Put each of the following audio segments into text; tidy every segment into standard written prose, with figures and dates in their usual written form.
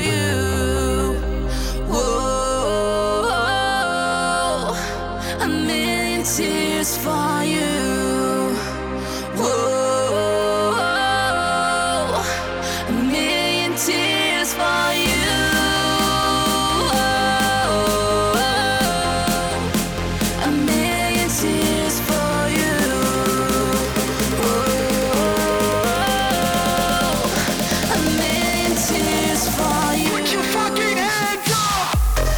you. Whoa, a million tears for you. Whoa, a million tears for you. A million tears for you. A million tears for you. Put your fucking hands up!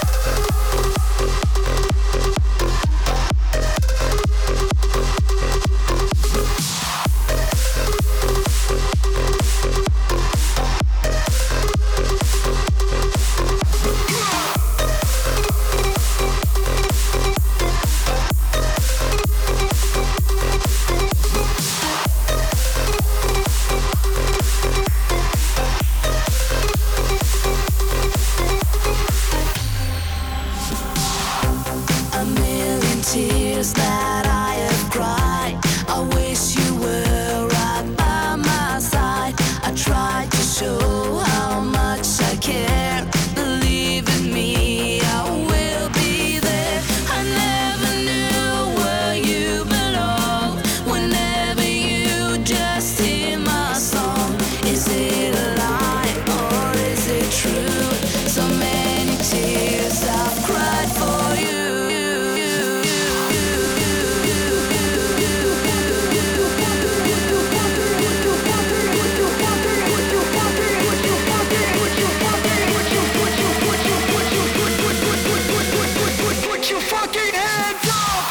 A million tears that I have cried. I wish you were right by my side. I tried to show how much I care. Believe in me, I will be there. I never knew where you belong. Whenever you just hear my song, is it a lie or is it true? So many tears I've cried for you. Put your fucking hands up!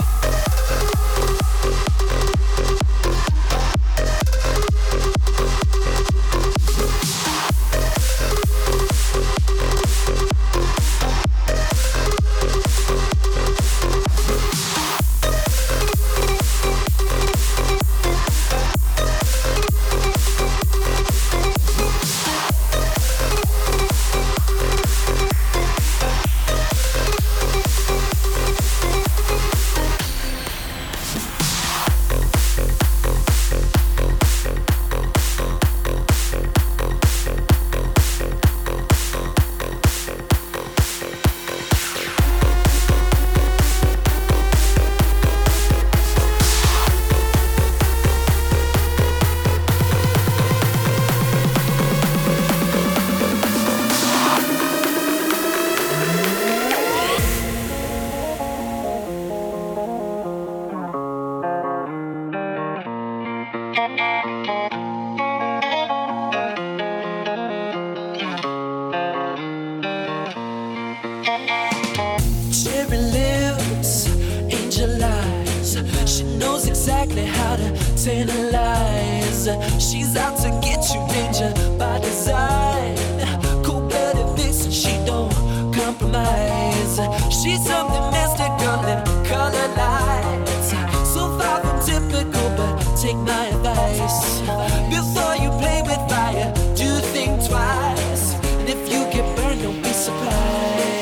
Cherry lips, angel eyes. She knows exactly how to tantalize. She's out to get you, danger by design. Cold-blooded vixen, she don't compromise. She's something mystical in color lights. So far from typical, but take my advice. Before you play with fire, do think twice. And if you get burned, don't be surprised.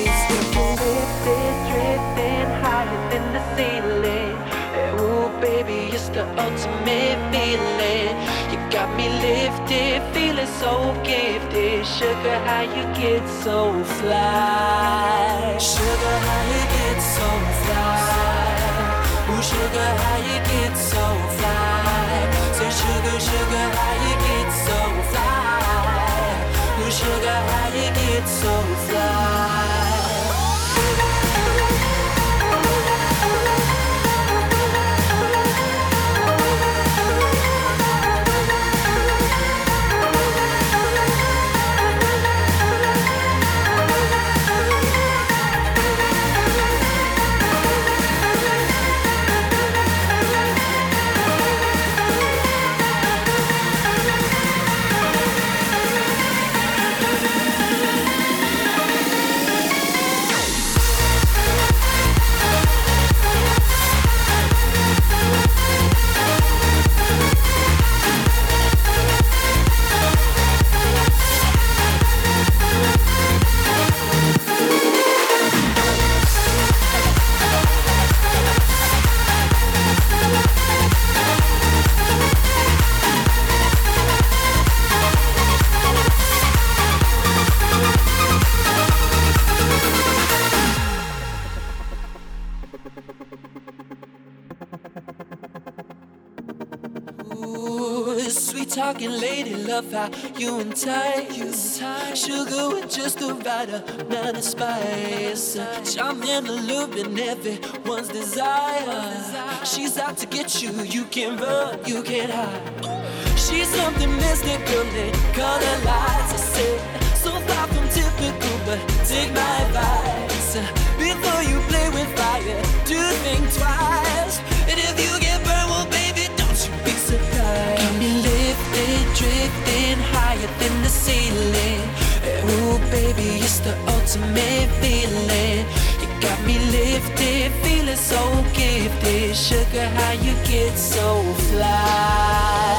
Drifting higher than the ceiling. Ooh, baby, it's the ultimate feeling. You got me lifted, feeling so gifted. Sugar, how you get so fly? Sugar, how you get so fly? Ooh, sugar, how you get so fly? Say, sugar, sugar, how you get so fly? Ooh, sugar, how you get so fly? talking lady love, how you entice. Sugar with just the right amount of spice. Charm and allure in everyone's desire. She's out to get you, you can't run, you can't hide. She's something mystical in color lights. I said, so far from typical, but take my advice. Before you play with fire, do think twice. And if you get burned, well, baby, don't you be surprised. Got me lifted, drifting higher than the ceiling. Ooh, baby, it's the ultimate feeling. You got me lifted, feeling so gifted. Sugar, how you get so fly?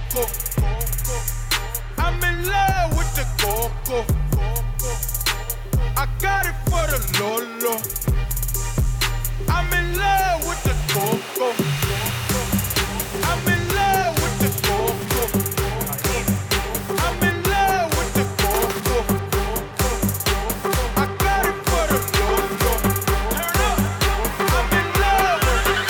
coco. I'm in love with the coco. I got it for the Lolo. I'm in love with the coco. I'm in love with the coco. I'm in love with the coco. I got it for the Lolo. Turn up. I'm in love with the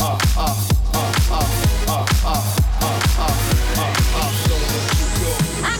I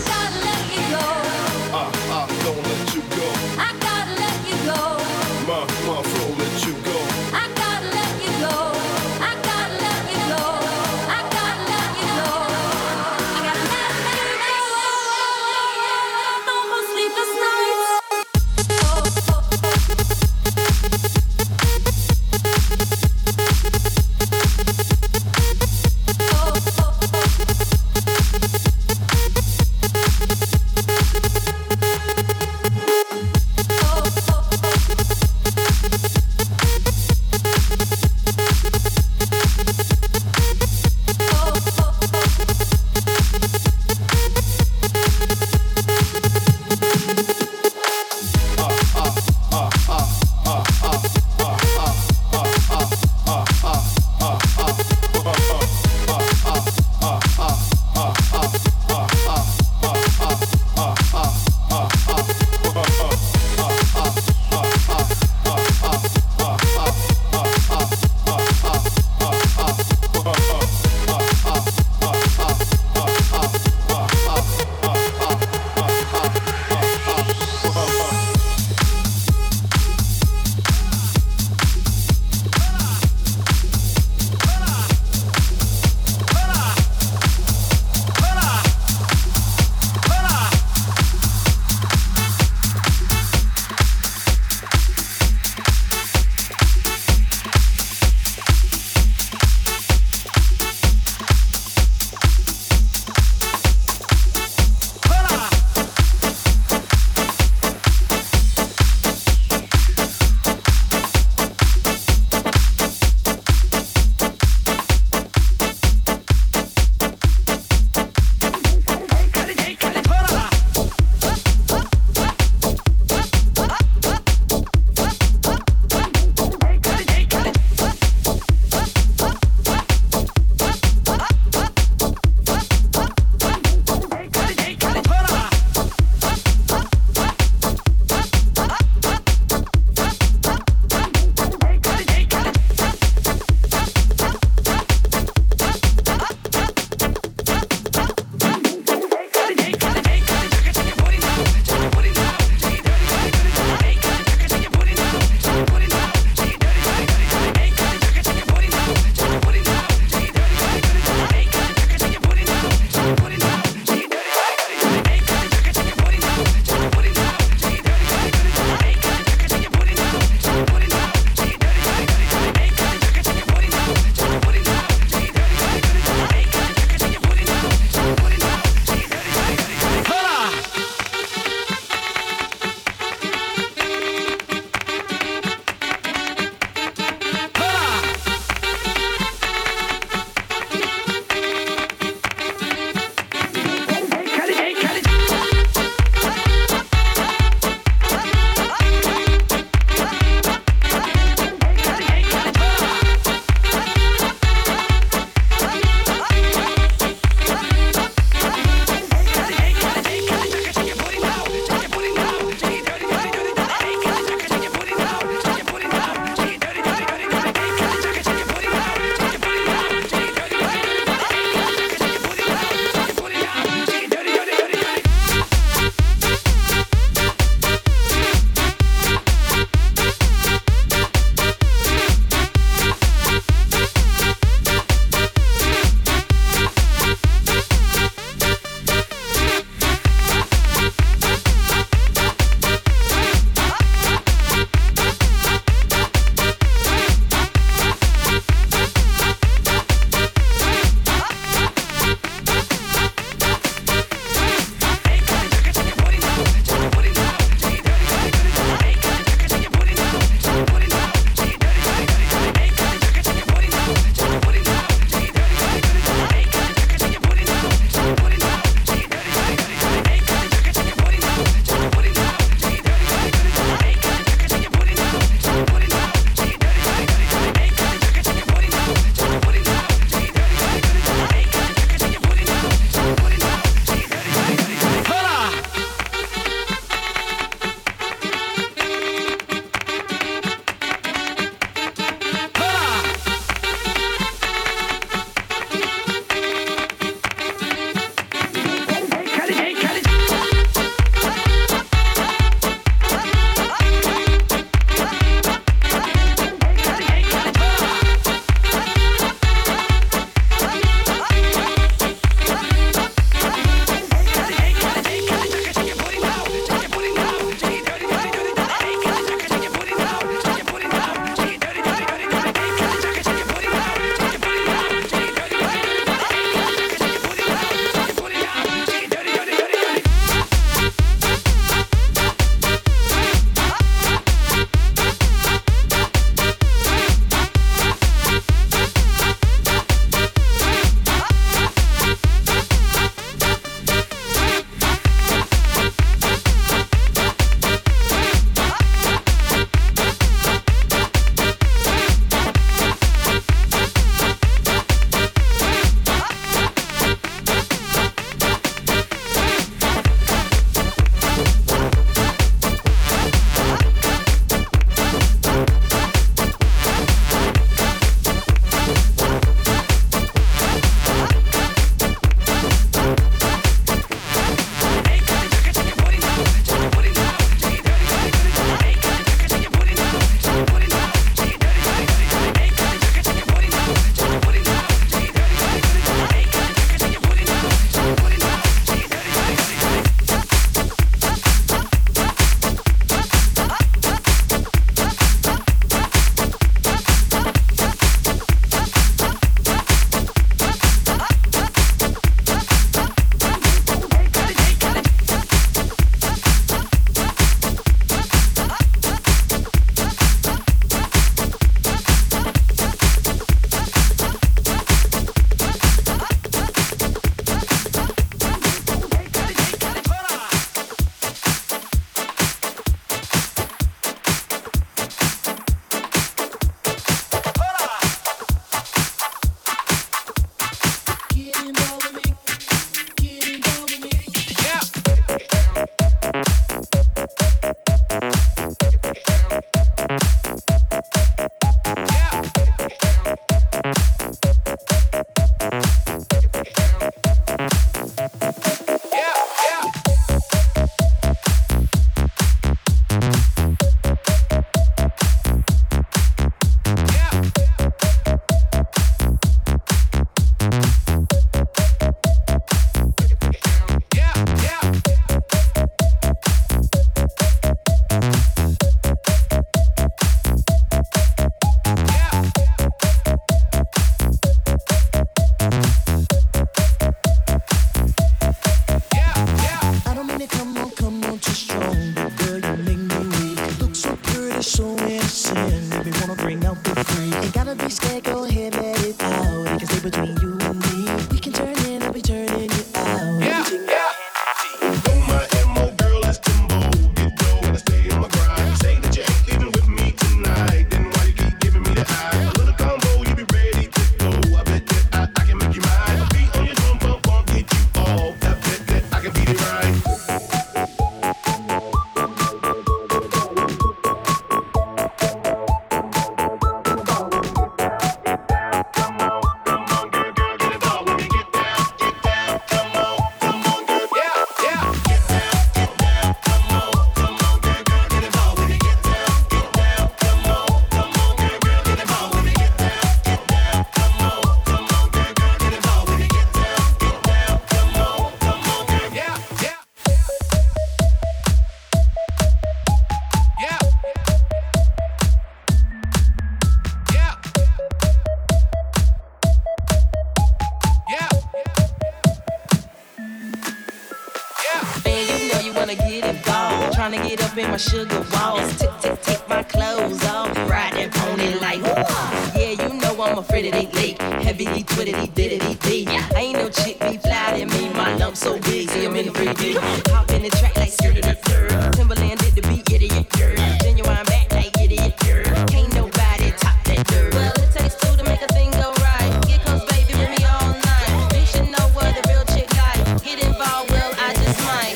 wanna get involved. Trying to get up in my sugar walls. Take my clothes off. Ride that pony like, woo. Yeah, you know I'm afraid it ain't late. Heavily twiddly diddly dee. Ain't no chick be fly than me. My lump so big, see I'm in the 3D. Hop in the track like skirt the third. Timberland did the beat, idiot girl. Genuine back like idiot girl. Can't nobody top that dirt. Well, it takes two to make a thing go right. Here comes baby with me all night. You should know what a real chick like. Get involved, well, I just might.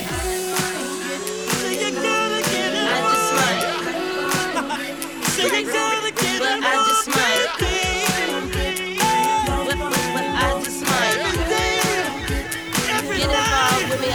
I just might. Well, I just might. Well, I just might. Get involved with me,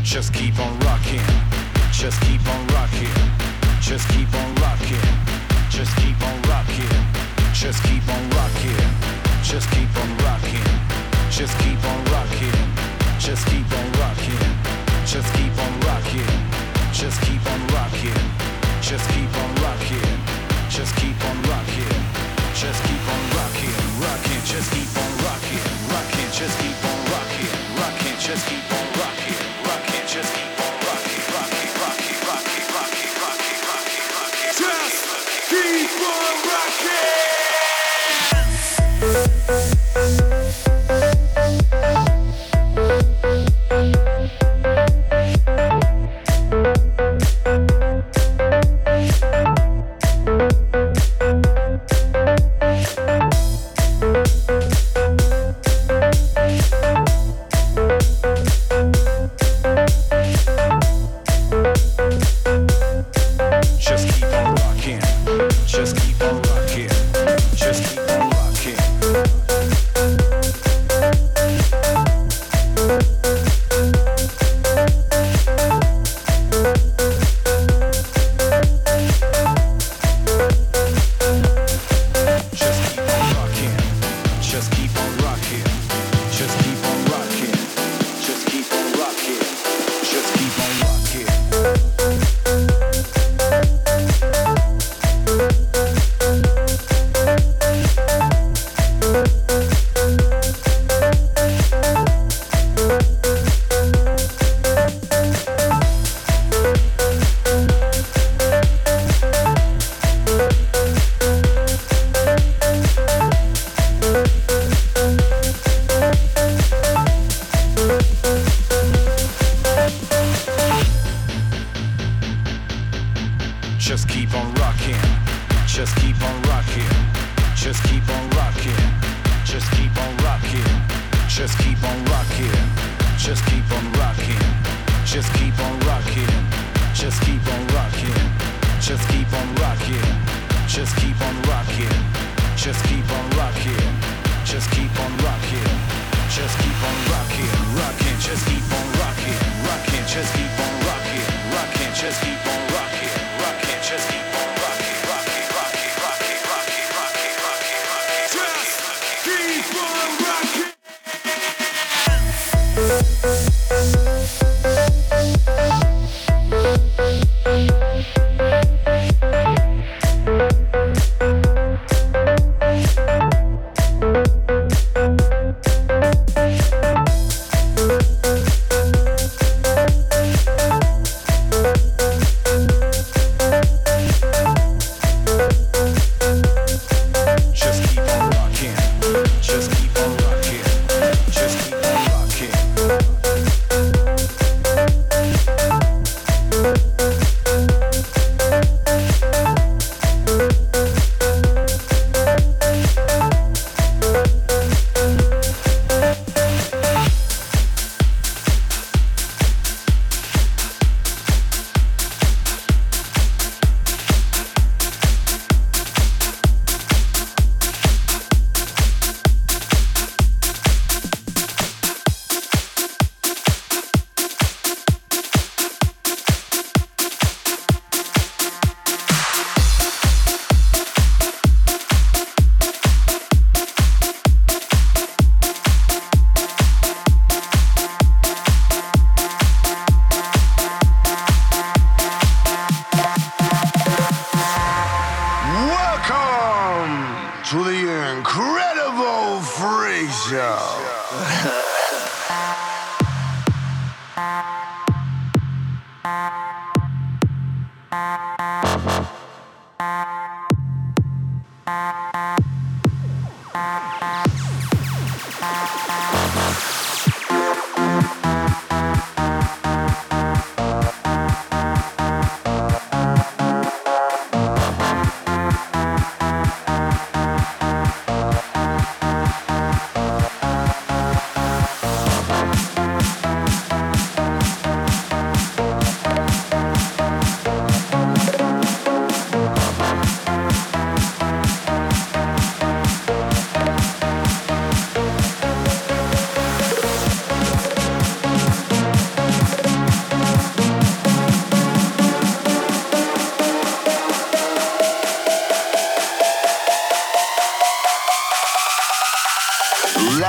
Just keep on rocking. Just keep on rocking. Just keep on rocking. Just keep on rocking. Just keep on rocking. Just keep on rocking. Just keep on rocking. Just keep on rocking. Just keep on rocking. Just keep on rocking. Just keep on rocking. Just keep on rocking. Just keep on rocking. Rocking. Just keep on rocking. Rocking. Just keep on rocking. Rocking. Just keep on rocking. Rocking. Just keep on rocking. Rocking. Rocking. Rocking. Rocking. Rocking. Rocking. Rocking. Just keep on rocking.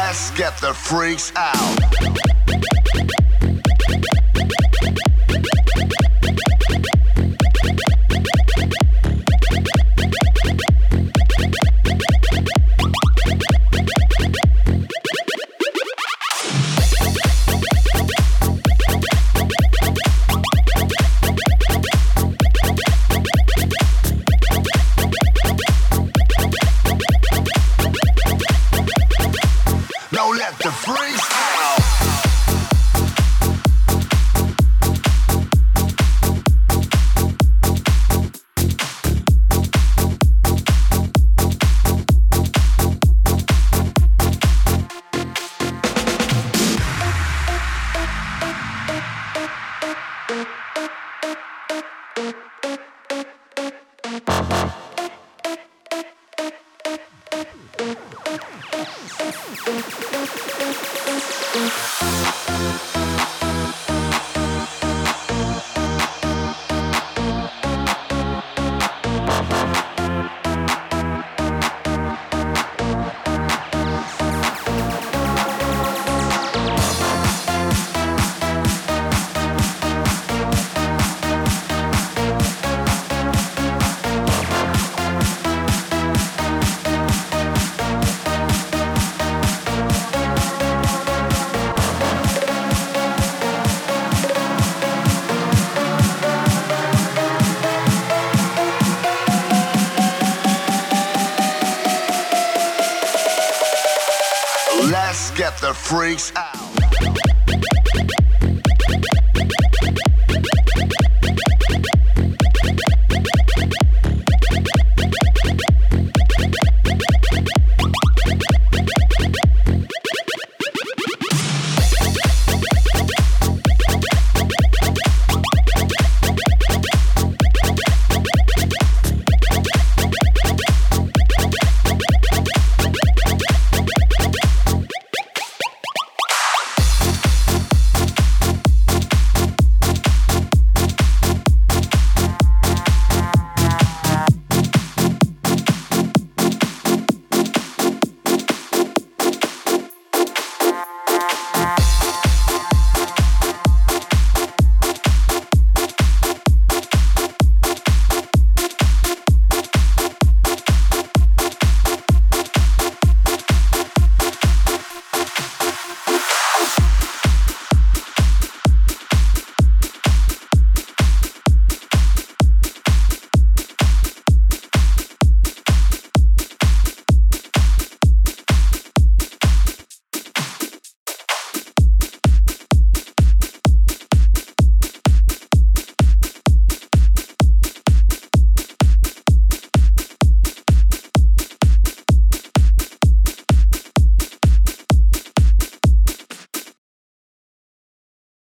Let's get the freaks out. Now let the freaks out. Let's get the freaks out.